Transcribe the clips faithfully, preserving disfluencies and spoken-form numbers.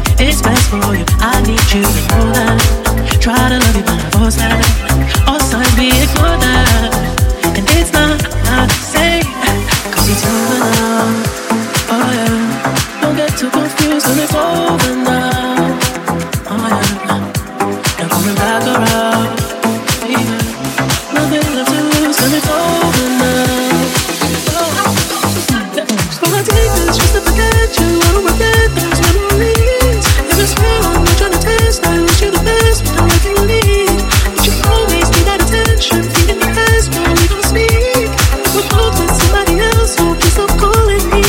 It's best for you, I need you to know that. Try to love you but I force that. All signs we ignore that. And it's not, not safe, cause it's over now. Oh yeah, don't get too confused when it's over now. Oh yeah, now coming back around. Yeah, nothing left to lose when it's over now. Oh, so I take this just to forget you. I don't regret those memories. If it's real, I'm not trying to test. I wish you the best, but I'm letting you lead. But you always need that attention, feeding the best when we don't speak. If we're both with somebody else, so please stop calling me.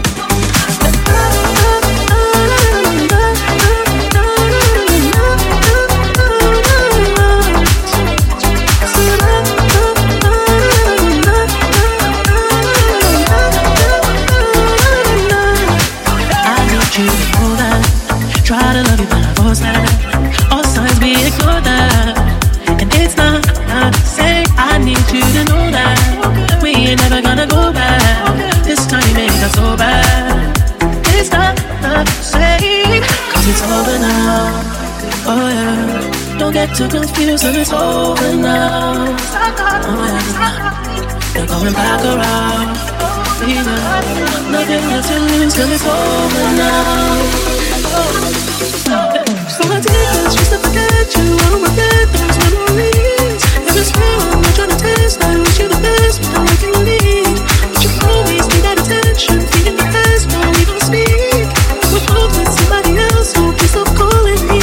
Try to love you, but I force that. All signs we ignore that. And it's not, not safe. I need you to know that we ain't never gonna go back. This time you made us so bad. It's not, not safe, cause it's over now. Oh yeah, don't get too confused when it's over now. Oh yeah, you're coming back around. Yeah, nothing left to lose till it's over now. So I did this just to forget you. I don't regret those memories. If it's real, I'm not trying to test. I wish you the best, but I'm letting you lead. But you always need that attention, feeding the best when we don't speak. We're both with somebody else, so please stop calling me.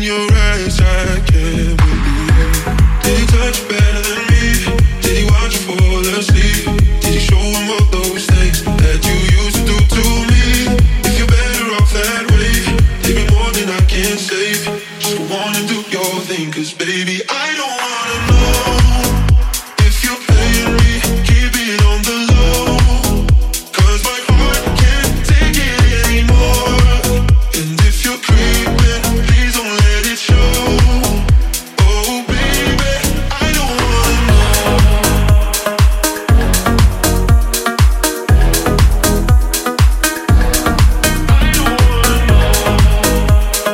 your eyes, I can't believe. Did he touch you better than me? Did he watch you fall asleep? Did he show him all those things that you used to do to me? If you're better off that way, give me more than I can save. Just go on and do your thing, cause baby, I don't wanna know if you're paying me, keep it on the low. Cause my heart can't take it anymore. And if you're creeping, please don't let it show. Oh baby, I don't wanna know. I don't wanna know.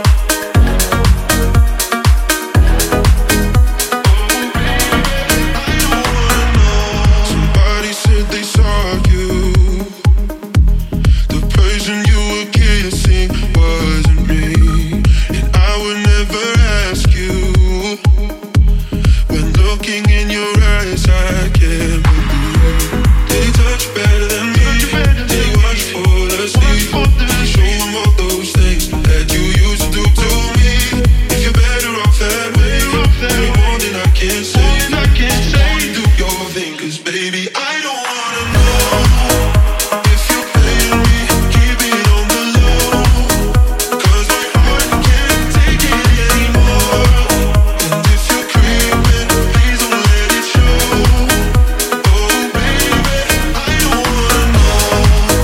Somebody said they saw you. The person you were kissing wasn't me. And I would never ask you. When looking in your eyes, I can't believe. Did he touch you better than me? Did he watch you fall asleep? Did he show him all those things that you used to do to me? If you're better off that way, give me more than I can say. Just wanna do your thing, cause baby, I don't wanna know if you're paying me, keep it on the low. Cause my heart can't take it anymore. And if you're creeping, please don't let it show. Oh baby, I don't wanna know.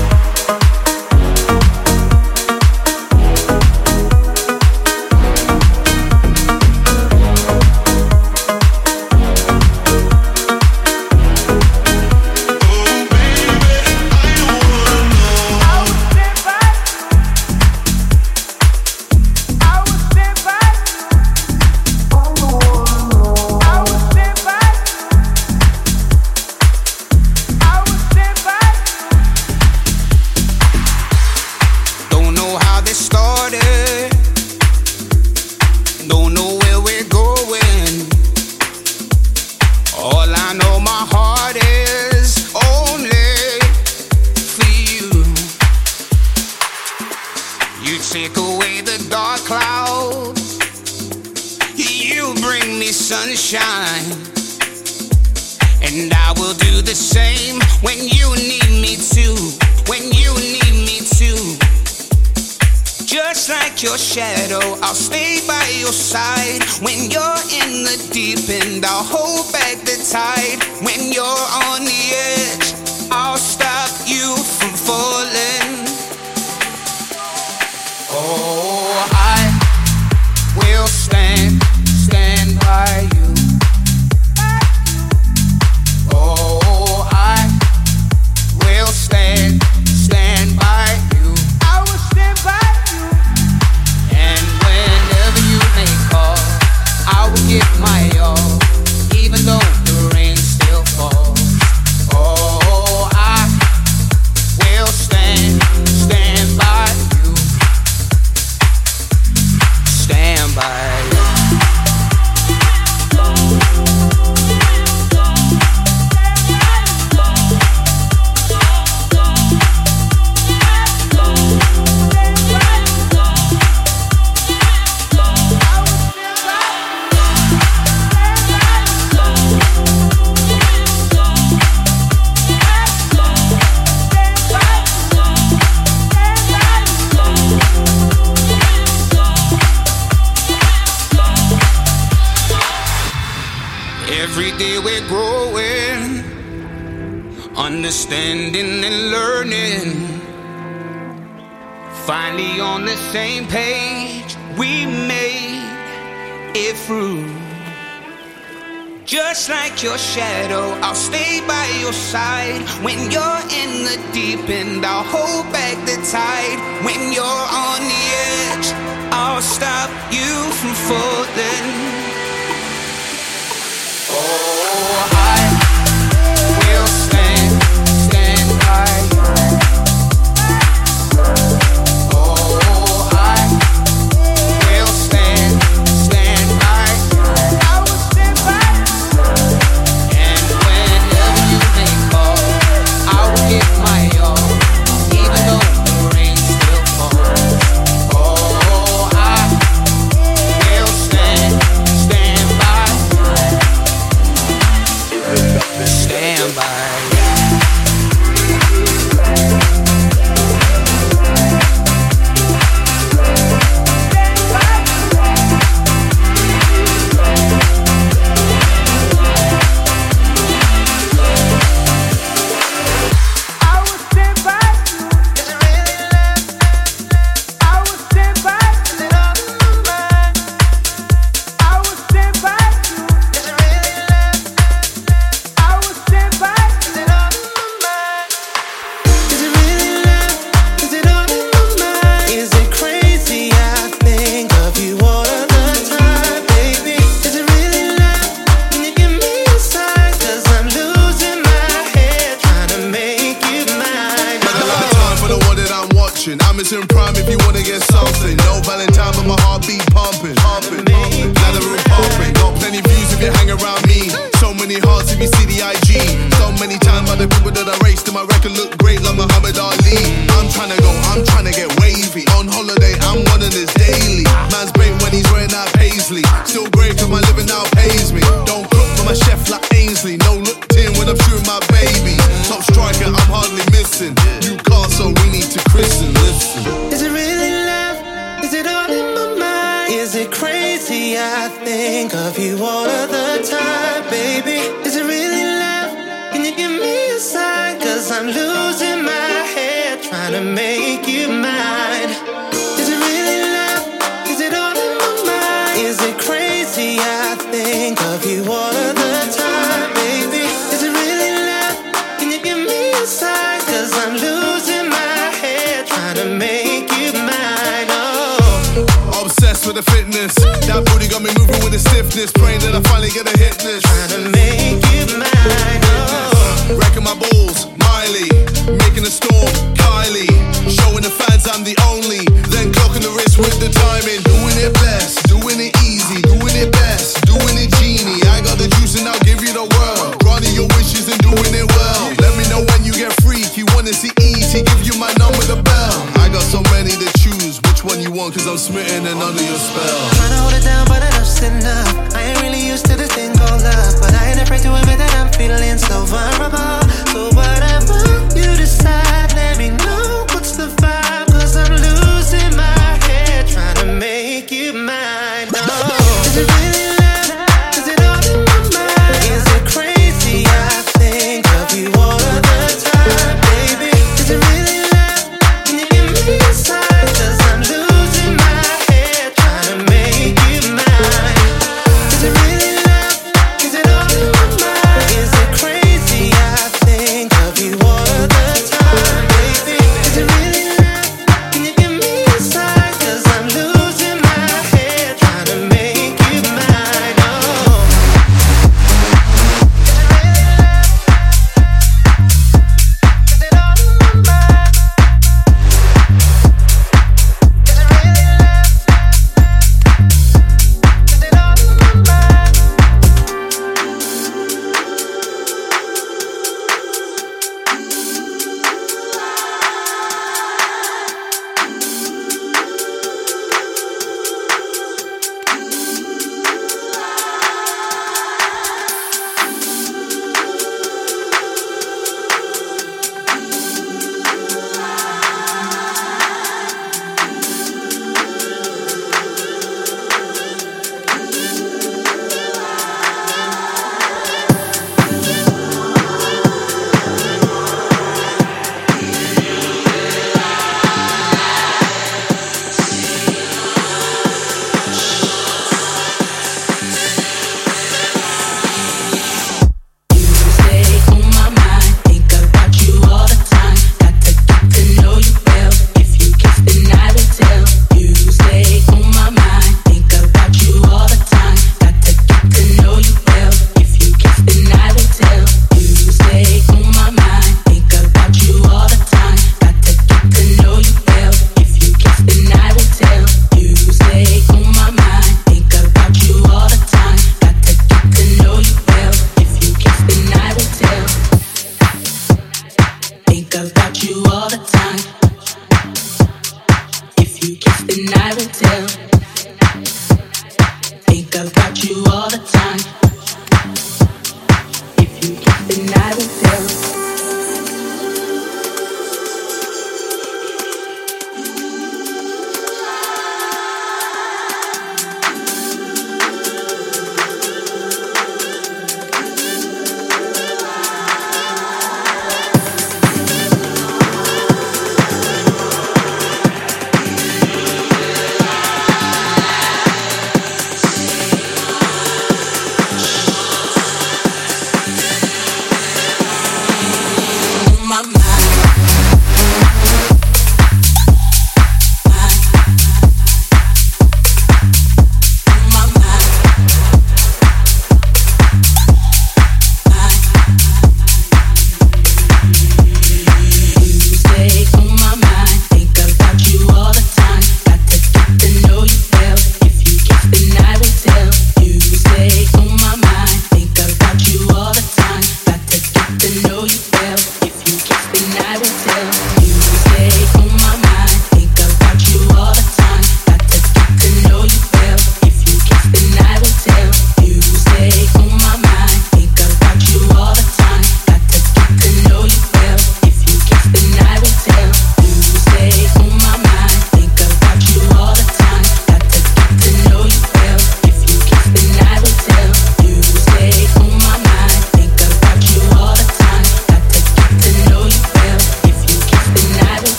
Don't know how this started. Don't know where we're going. All I know, my heart is only for you. You take away the dark clouds. You bring me sunshine. And I will do the same when you need me to. When you need me to. Just like your shadow, I'll stay by your side. When you're in the deep end, I'll hold back the tide. When you're on the edge, I'll stop you from falling. Oh, I will stand, stand by you. Oh, I will stand, stand by you. I will stand by you. And whenever you may call, I will give my all, even though the rain still falls. Oh, I will stand, stand by you. Stand by you. Every day we're growing, understanding and learning. Finally on the same page, we made it through. Just like your shadow, I'll stay by your side. When you're in the deep end, I'll hold back the tide. When you're on the edge, I'll stop you from falling. Oh, I will stand, stand by you. Oh, I will stand, stand by you. I will stand by you. And whenever you may call, I will give my all, even though the rain still falls. Oh, I will it crazy? I think of you all of the time, baby. Is it really love? Can you give me a sign? Cause I'm losing my head trying to make you mine. Is it really love? Is it all in my mind? Is it crazy? I think of you all of the time, baby. Is it really love? Can you give me a sign? Cause I'm losing my head trying to make you mine. Oh, obsessed with the fitness. That booty got me moving with the stiffness. Praying that I finally get a hit this. Trying to make you mine. Oh, wrecking my balls, Miley. Making a storm, Kylie. Showing the fans I'm the only. Then clocking the wrist with the timing. Doing it best, doing it easy, doing it best, doing it genie. I got the juice and I'll give you the world. Granting your wishes and doing it well. Let me know when you get freaky. Wanna see easy, give you my number, the bell. I got so many to choose. Which one you want? Cause I'm smitten and under your spell. Trying to hold it down, but enough's enough. I ain't really used to this thing called love, but I ain't afraid to admit that I'm feeling so vulnerable. So whatever you decide, let me know what's the vibe. Cause I'm losing my head trying to make you mine. Oh, is it really love? Is it all in my mind? Is it crazy? I think of you all of the time, baby. Is it really love? Can you give me a sign? Cause I'm losing my head trying to make you mine. Is it really love? Is it all in my mind? Is it crazy? I think of you all of the time, baby. Is it really love? Can you give me a sign? Cause I'm losing my head trying to make you mine. Oh, is it all in my mind? Is it really love? Is it all in my mind?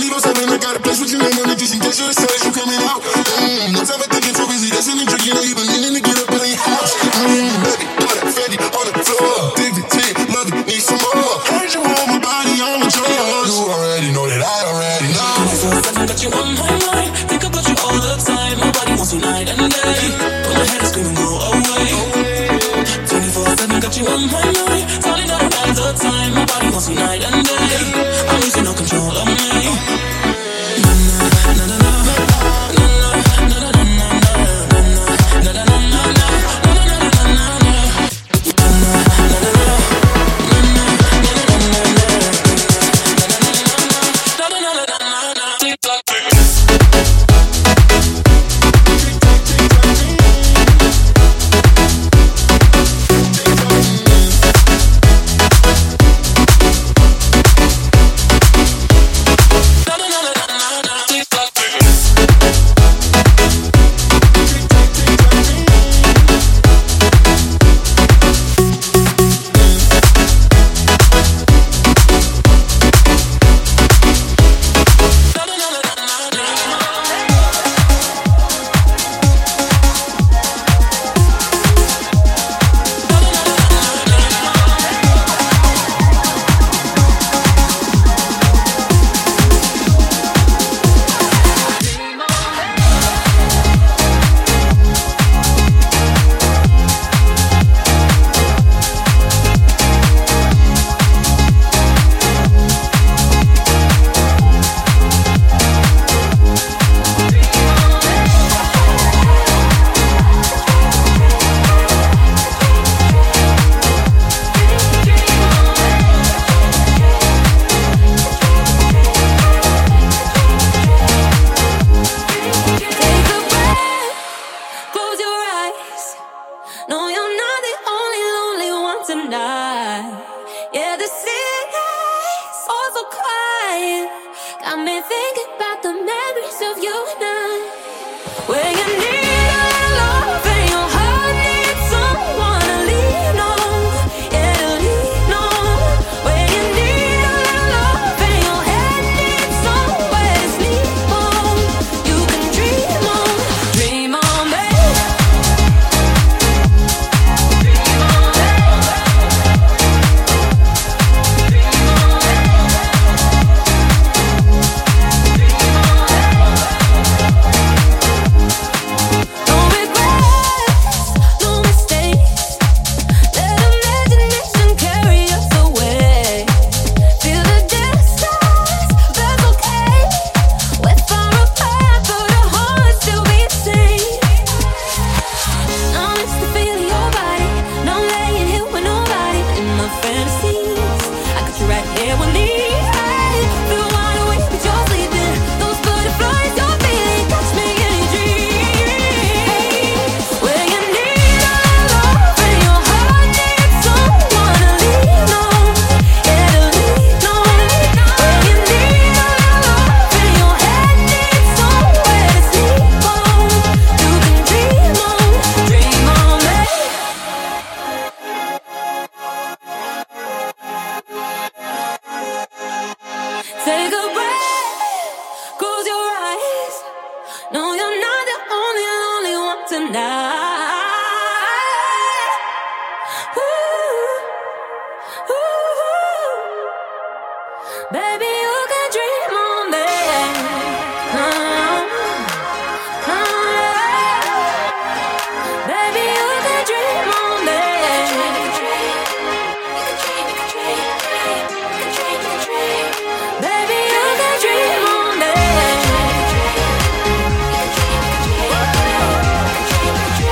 twenty-four seven, I got a place with your name on it just in case you're excited, you coming out. Mm, no time for thinking too busy, that's an intro, you know you've been meaning to get up out of your house. Mm, baby, got that Fendi on the floor. Dig the tape, love it, need some more. Heard you want my body on with yours. You already know that I already know. twenty-four seven, got you on my mind. Think about you all the time. My body wants you night and day. But my head is screaming, go away. twenty-four seven, got you on my mind. Falling out all the time. My body wants you night and day. I'm losing no control of me. Dream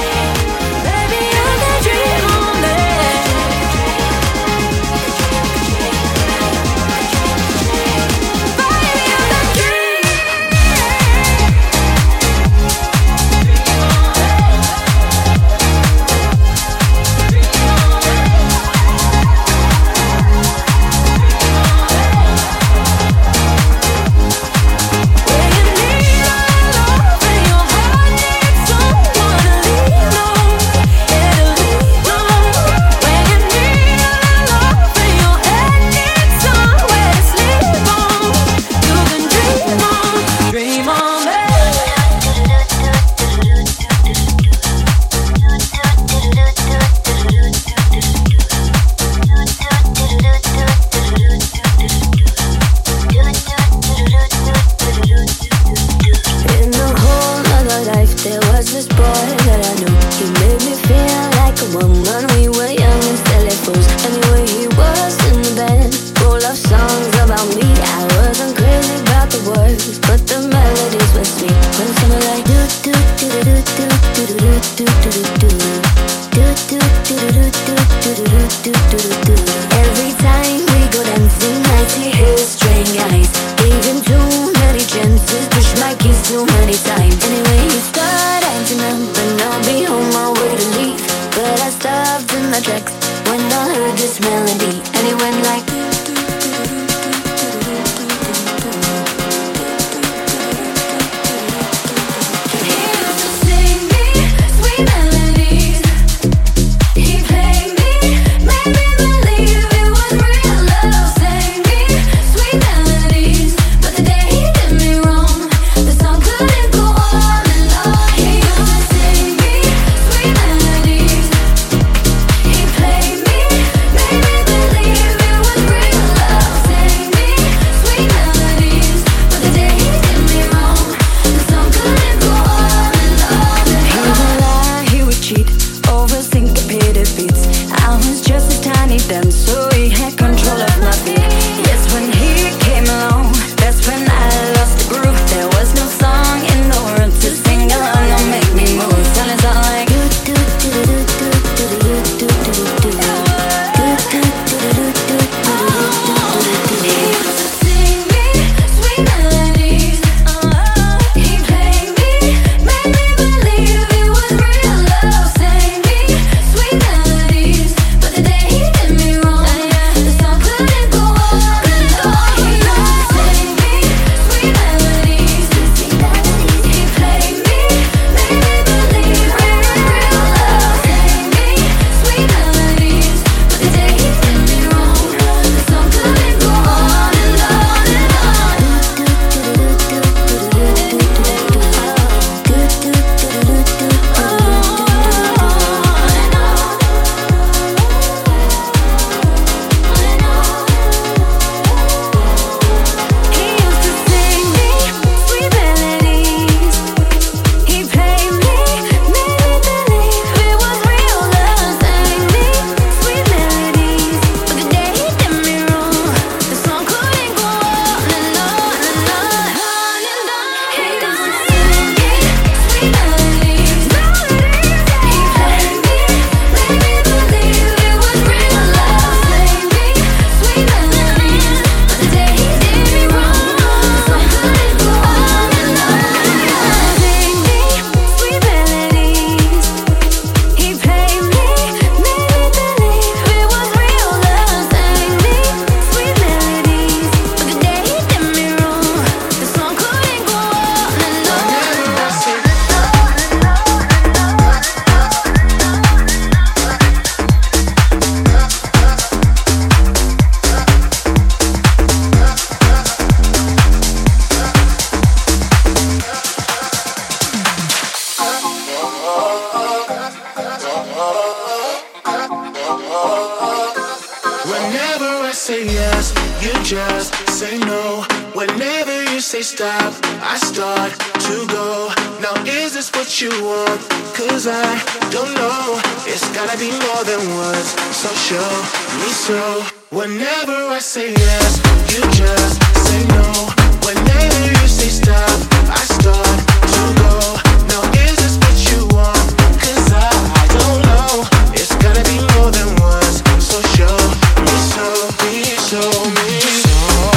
just say no. Whenever you say stop, I start to go. Now is this what you want? Cause I don't know. It's gotta be more than words, so show me so. Whenever I say yes, you just say no. Whenever you say stop, I start to go. Now is this what you want? Cause I, I don't know. It's gotta be more than words, so show me so. Me show me so.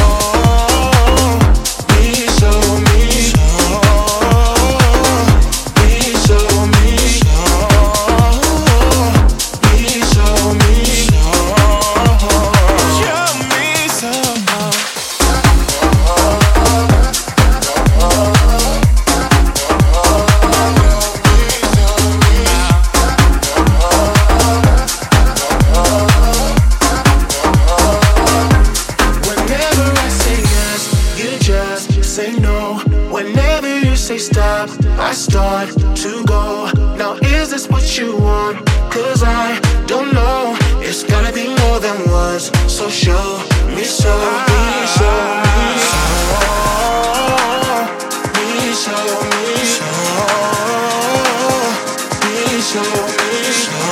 Me show me so. Me show me so. Me show me so. Show me so. Stop, I start to go. Now is this what you want? Cause I don't know. It's gotta be more than words, so show me so. Me show me so. Me show me so. Me show me so.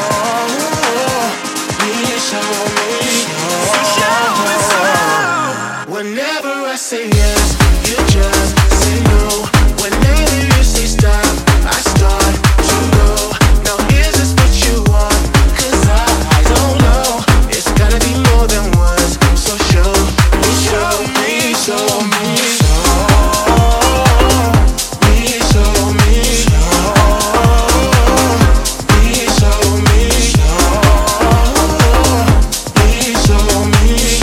Me show me so. Whenever I say yes, you just say no. Whenever you say stop, I start to go. Now is this what you want? Cause I, I don't know. It's gotta be more than words, so show me, show me, show me, show me, show me, me, show me, me, show me,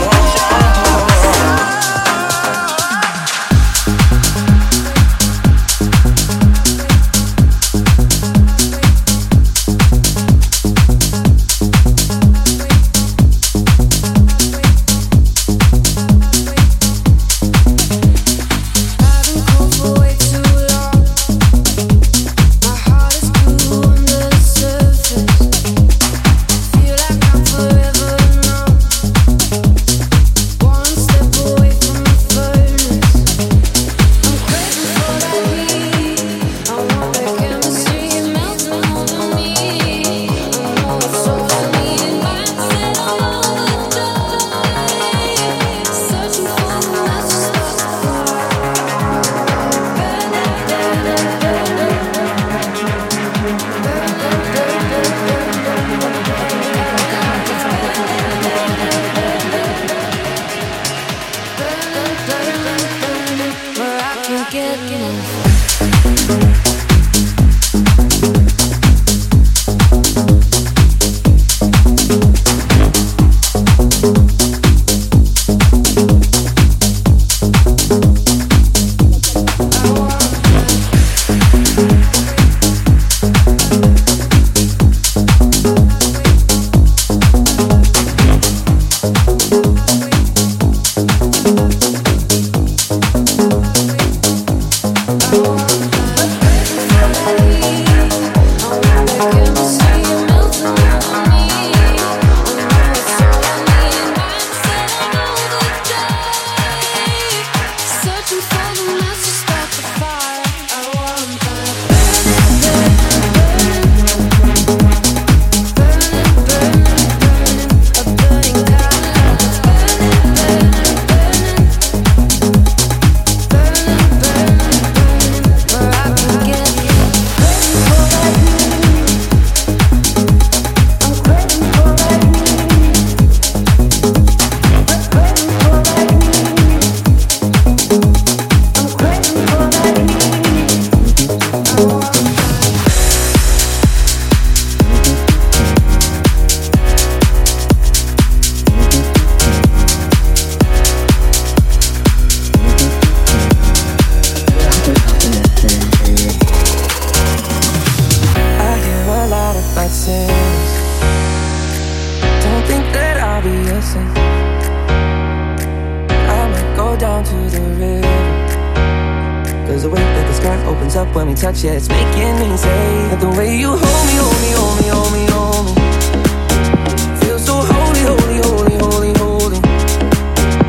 opens up when we touch, yeah, it's making me say that the way you hold me, hold me, hold me, hold me, hold me, feel so holy, holy, holy, holy, holy.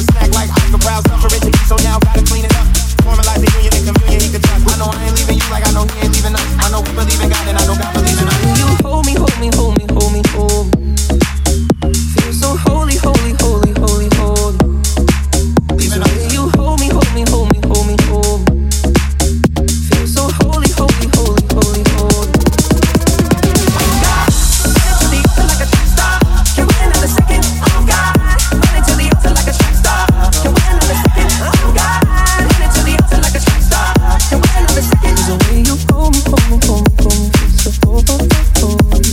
snack like Oscar Brown, suffering to eat, so now gotta clean it up. Formalize the union and communion he could trust. I know I ain't leaving you like I know he ain't leaving us. I know we believe in God and I know God believes in us. You hold me, hold me, hold me, hold me, hold me. Feel so holy, holy, holy, holy, holy. The way you hold me, hold me, hold me, hold me, hold me. Feel so holy, holy, holy, holy, holy. Oh God, run into the altar like a track star. Can wait another second. Oh God, run into the altar like a track star. Can wait another second. Oh God, run into the altar like a track star. Can wait another second. The way you hold me, hold me, hold me, hold me. Feel so holy, holy.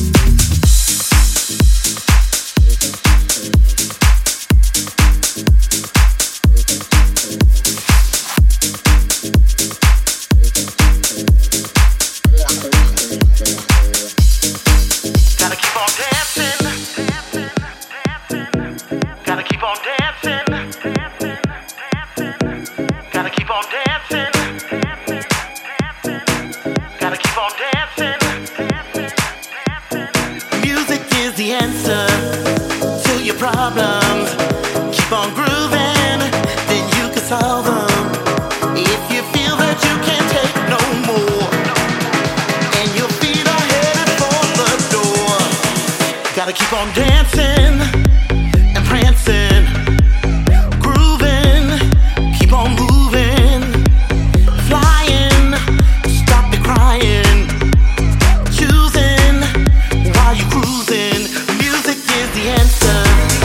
Problems, keep on grooving, then you can solve them. If you feel that you can't take no more, and your feet are headed for the door, gotta keep on dancing and prancing, grooving, keep on moving, flying, stop the crying, choosing while you're cruising. Music is the answer.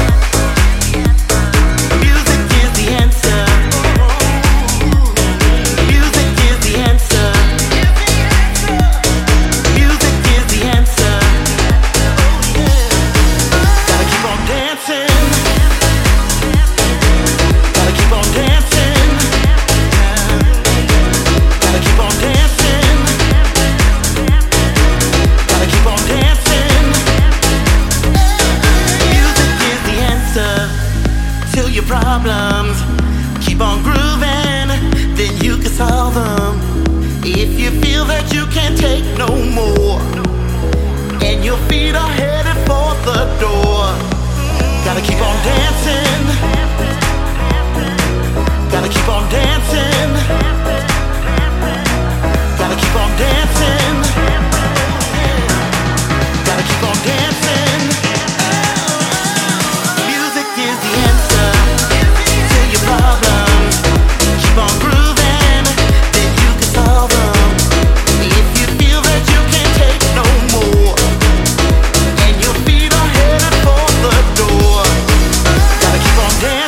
Problems, keep on grooving, then you can solve them. If you feel that you can't take no more, and your feet are headed for the door, gotta keep on dancing, gotta keep on dancing, gotta keep on dancing, gotta keep on dancing. Music is the answer. Problems, keep on grooving, then you can solve them. If you feel that you can't take no more, and your feet are headed for the door, gotta keep on dancing.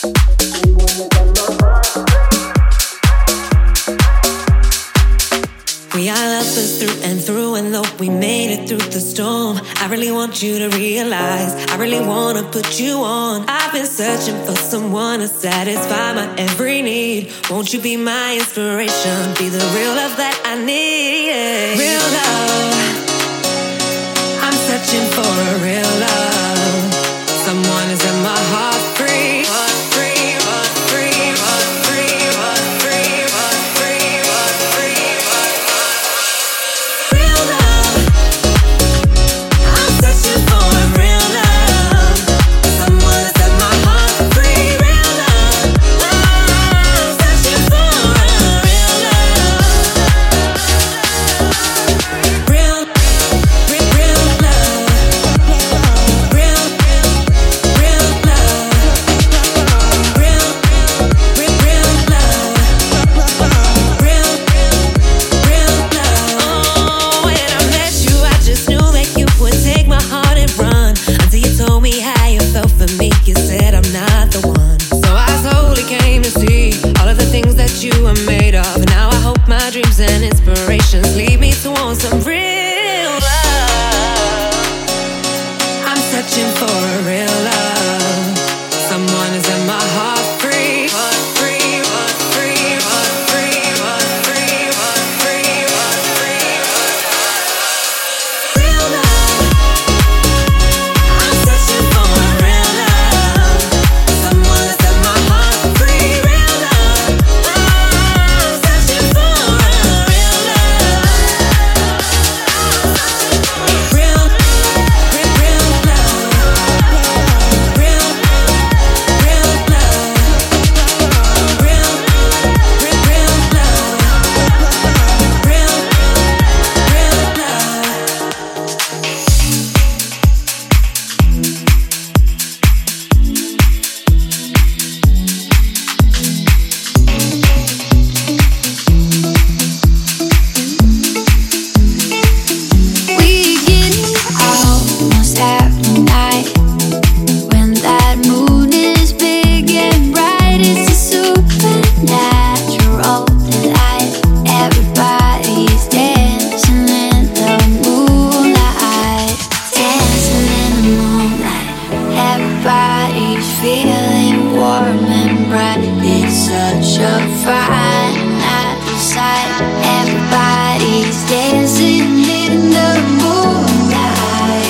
We are lovers through and through, and though we made it through the storm, I really want you to realize I really want to put you on. I've been searching for someone to satisfy my every need. Won't you be my inspiration? Be the real love that I need. Real love. I'm searching for a real love. Someone who set my heart free. Heart free, heart free, heart free, heart free, heart free, heart free, heart free. Real love. I'm searching for a real love. Someone who set my heart free. Real love. I'm searching for a real love. Real, real, real love. Real, real love. Real, real, real love. Real, real love. Oh, when I met you, I just knew that you would take my heart and run. Until you told me how you felt for me, you said I'm not the one. So I slowly came to see all of the things that you are made of. And now I hope my dreams and inspirations lead me to want some real love. I'm searching for a real love. Someone who set my heart free. Heart free, heart free, heart free, heart free, heart free, heart free, heart free. Real love. I'm searching for a real love. Someone who set my heart free. Real love. I'm searching for a real love. Real, real, real love. Real, real love. Real, real, real love. Real, real love. We get almost every night when that moon is big and bright. It's a supernatural delight. Everybody's dancing in the moonlight, dancing in the moonlight. Everybody's feeling warm and bright. It's such a fine night sight. Everybody's dancing in the moonlight.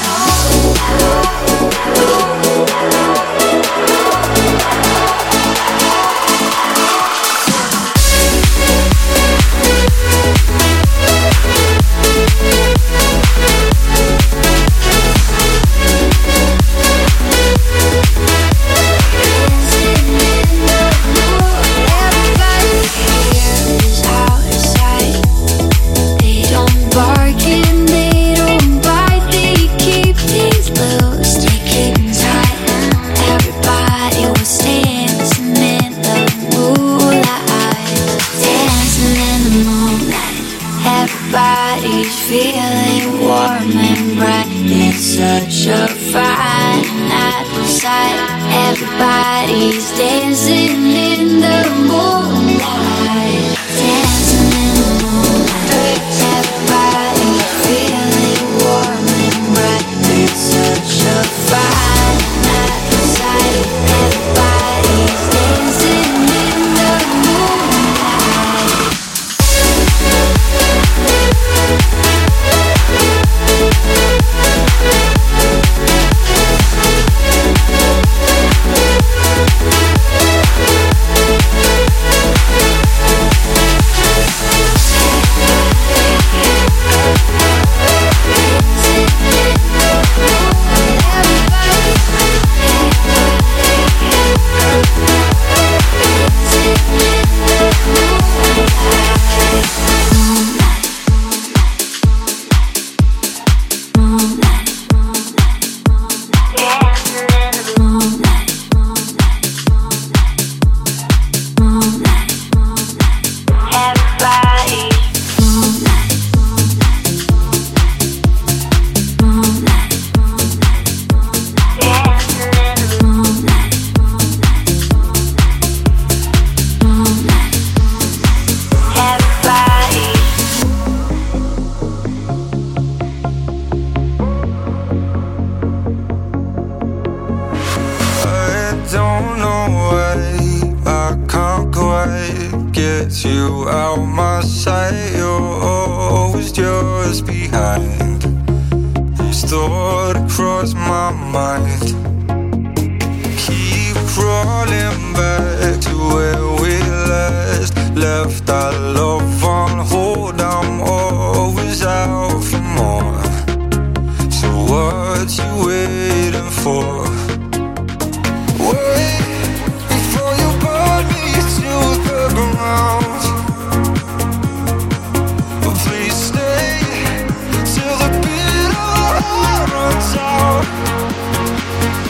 Everybody here is out of sight. They don't bark and they don't bite. They keep things loose, they keep tight. Everybody was dancing in the moonlight, dancing in the moonlight. Everybody's feeling warm and bright. It's such a fine night sight. Everybody's dancing in the moonlight, dancing in the moonlight. Everybody's feeling warm and bright. It's such a fine night sight. Everybody's dancing in the moonlight. get you out my sight. You're always just behind. This thought across my mind. Keep crawling back to where we last left our love on hold. I'm always out for more. So what you waiting for? Wait before you burn me to the ground. Please stay till the bitter heart runs out.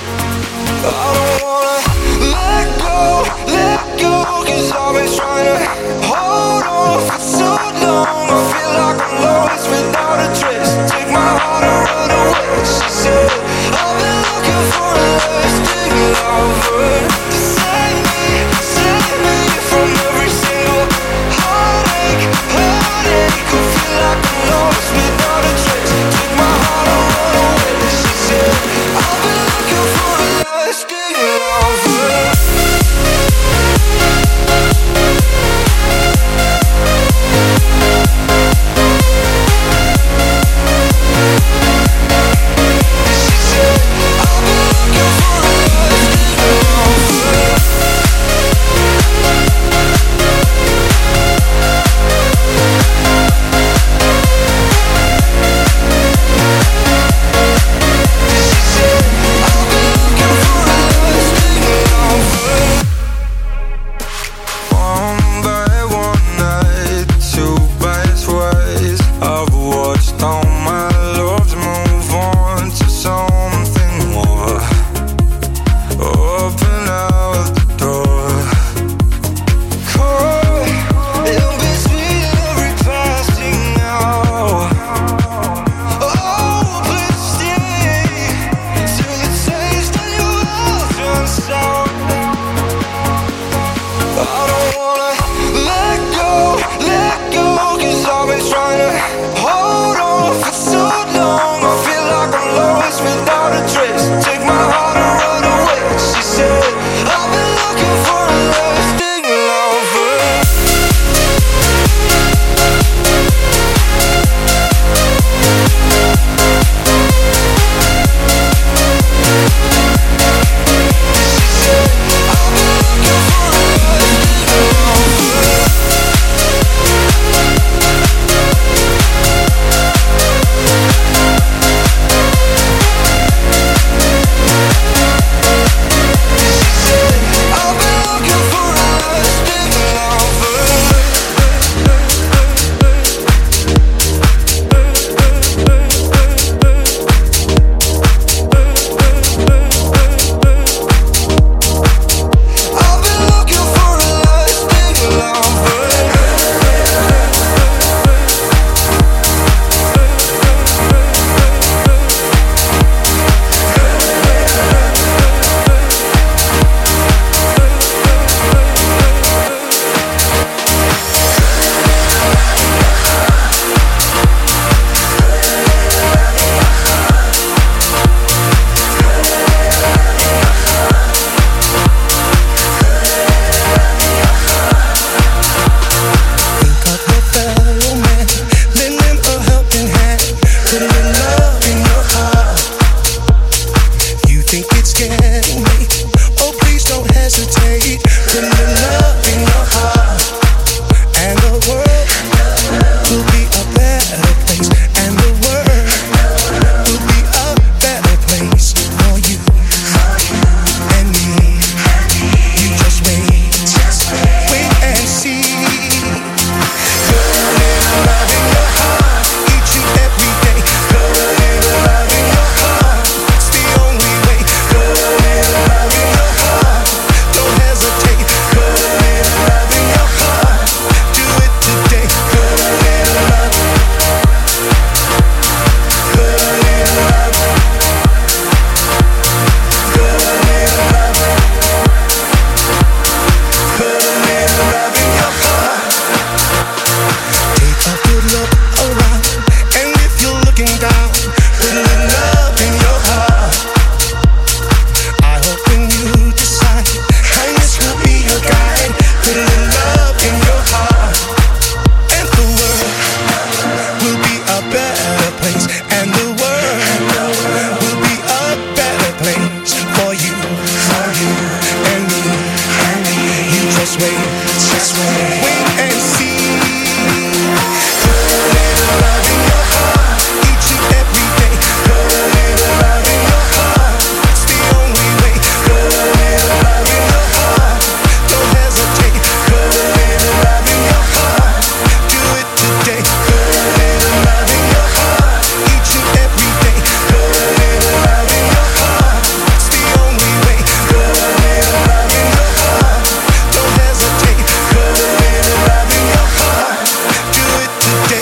Just wait, just wait, wait and see. Put a little love in your heart, each and every day. Put a little love in your heart, it's the only way. Put a little love in your heart, don't hesitate. Put a little love in your heart, do it today. Put a little love in your heart, each and every day. Put a little love in your heart, it's the only way. Put a little love in your heart, don't hesitate. Put a little love in your heart, do it today.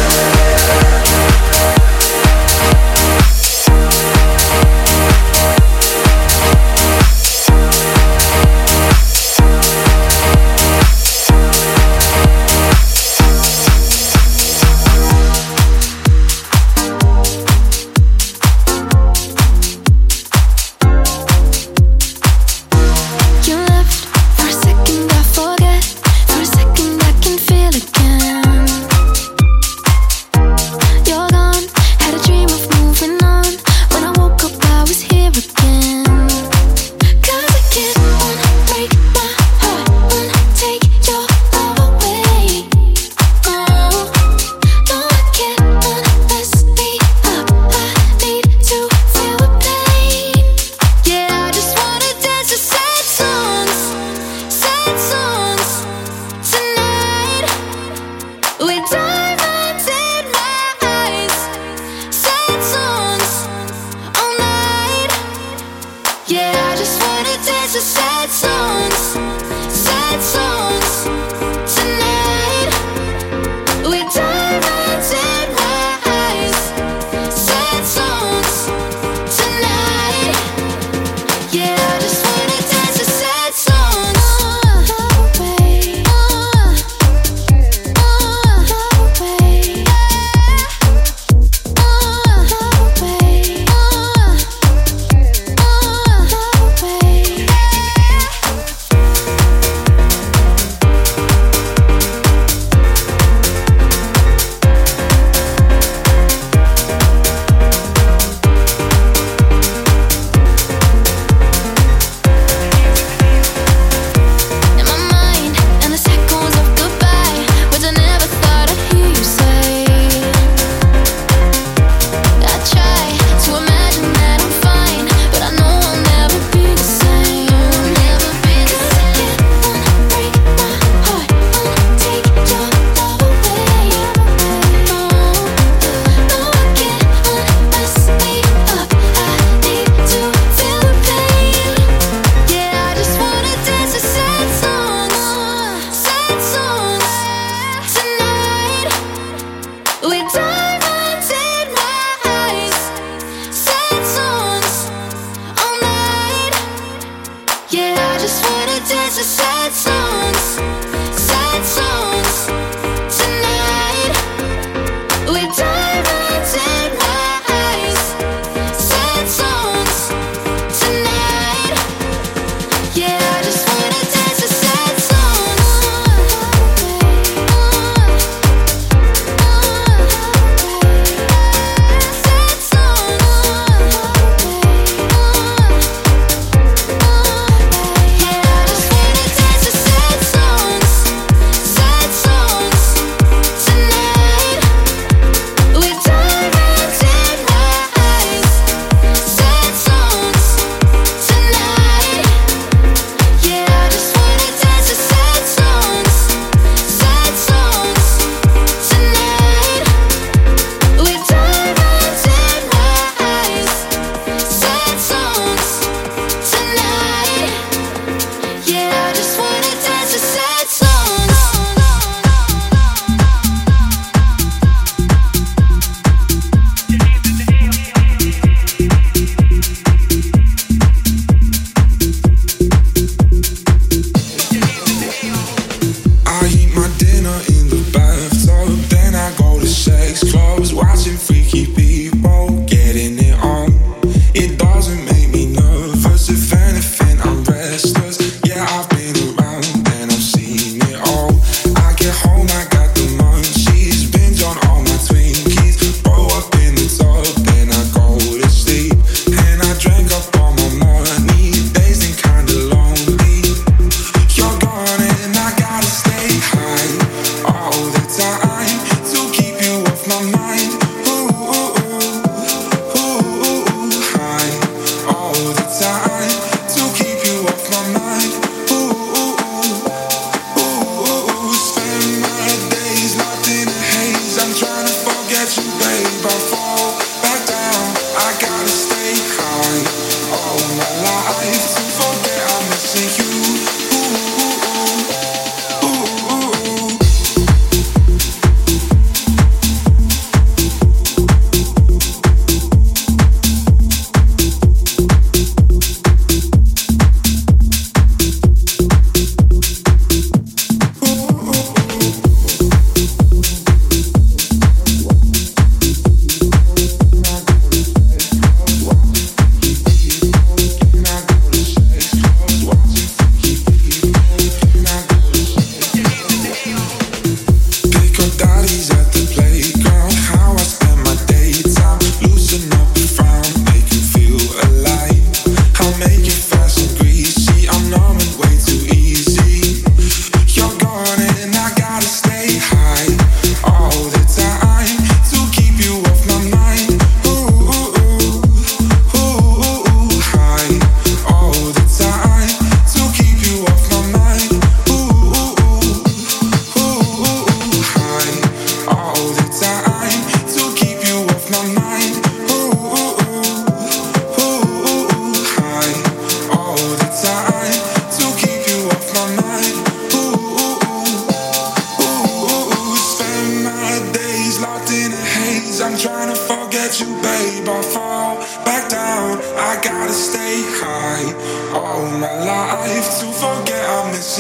You left for a second, I forget. For a second, I can feel again. You're gone, had a dream of moving on. When I woke up, I was here again. 'Cause I can't unbreak my heart, untake your love away. Oh, no, I can't unless me up. I need to feel the pain. Yeah, I just wanna dance to sad songs, sad songs tonight. With diamonds in my eyes, sad songs all night. Yeah, I just wanna dance to sad songs, sad songs tonight. With diamonds in my eyes, sad songs tonight. Yeah, I just wanna dance to sad songs.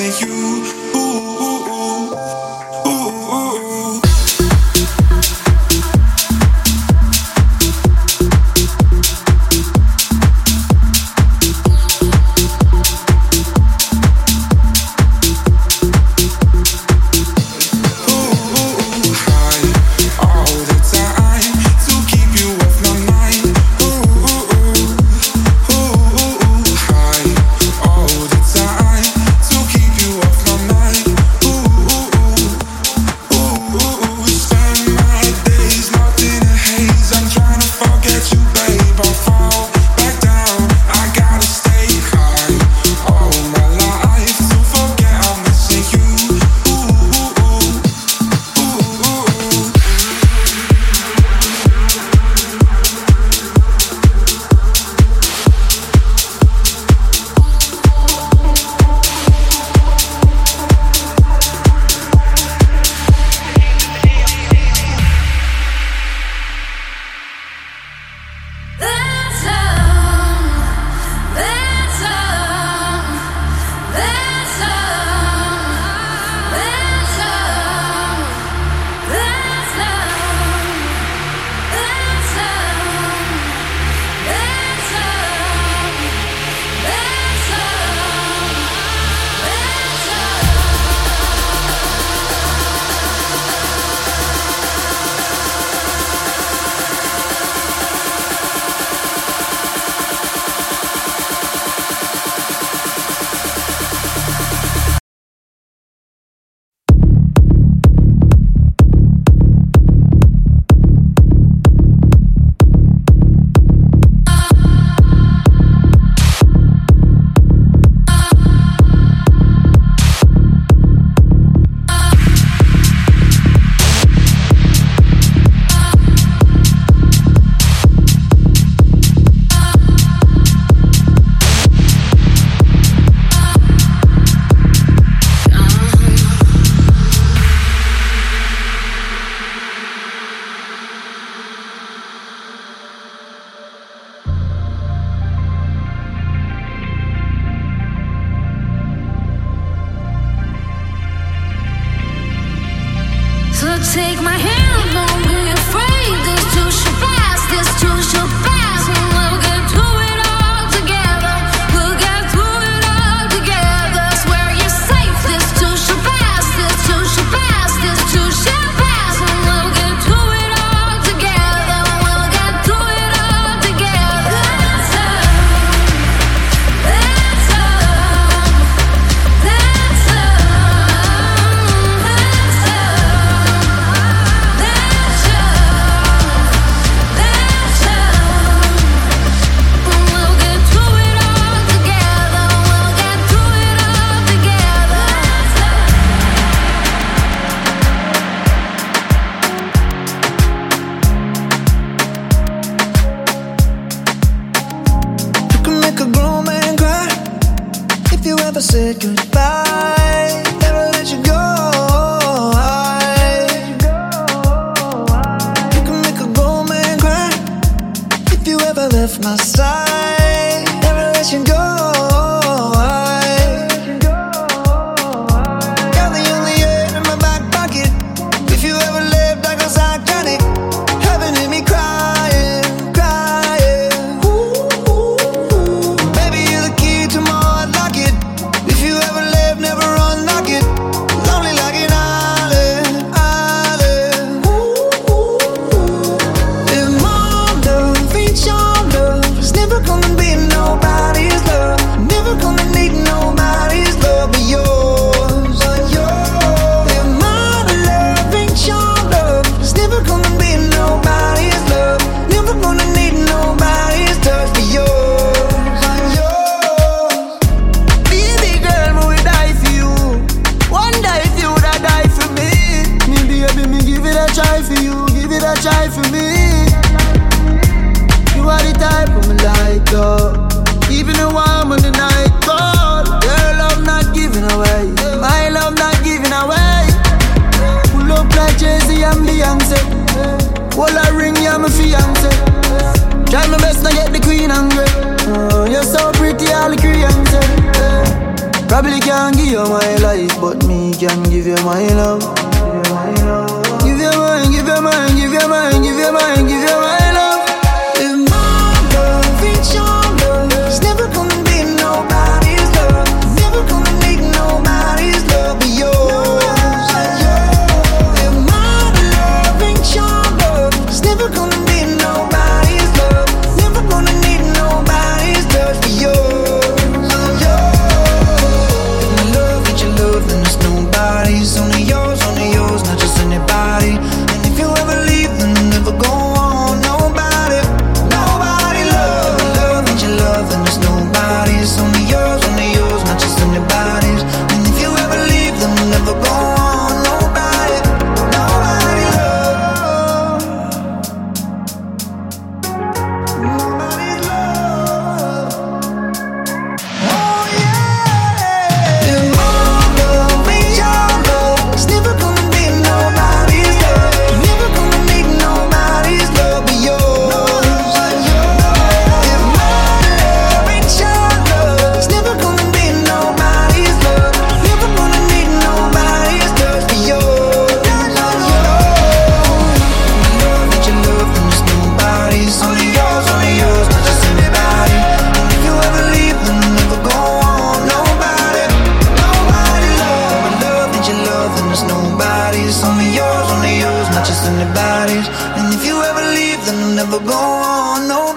Take my hand, don't be afraid. This too shall pass, this too shall pass. And we'll get through it all together. We'll get through it all together. Swear you're safe. This too shall pass, this too shall pass, this too shall pass. And we'll get through it all together. We'll get through it all together. That's love. That's love. That's love. That's love. That's said goodbye, never let you go. I, you can make a grown man cry if you ever left my side, never let you go. I got the only air in my back pocket. If you ever lived, I go psychotic, having hit me crying, crying. Ooh, ooh, ooh. Baby, you're the key to my heart, lock it. If you ever live, never unlock it. Lonely like an island, island. Ooh, ooh, ooh. If my love ain't your love, it's never gonna be nobody's love. Never gonna need nobody's love but yours, but yours. If my love ain't your love, it's never gonna be nobody's love. Never gonna need nobody's touch but yours, but yours. Baby girl, me will die for you. One day if you would have died for me. Me baby, me give it a try for you. Give it a try for me. You are the type of me like up. Keeping it warm when the night cold. Your love not giving away. My love not giving away. Pull up like Jay-Z and Beyonce. Well, I ring you, my fiance. Try my best to get the queen angry. Oh, you're so pretty, all the Koreans say. Probably can't give you my life, but me can give you my love. Give you mine, give you mine, give you mine, give you mine, give you my love. If my love ain't your love, it's never gonna be nobody's love. Never gonna make nobody's love but yours. If my love ain't your love, it's never gonna be nobody's love. Never gonna need nobody's love but yours. Nobody's only yours, only yours, not just anybody. And if you ever leave, then never go on. Nobody, nobody love, love ain't your love, and there's nobody's only yours, only yours, not just anybody's. And if you ever leave, then never go on. Nobody, nobody love, nobody love. Oh yeah. If my love ain't your love, it's never gonna be nobody's love. Never gonna make nobody's love but yours. If my love ain't your love, it's never gonna be nobody's love. Never gonna need nobody's love but yours. Love ain't your love, and there's nobody's. Only yours, only yours, not just anybody. And if you ever leave, then never go on. Nobody, nobody love. My love ain't your love, and there's nobody's. Only yours, only yours, not just anybody's. And if you ever leave, then never go on. No.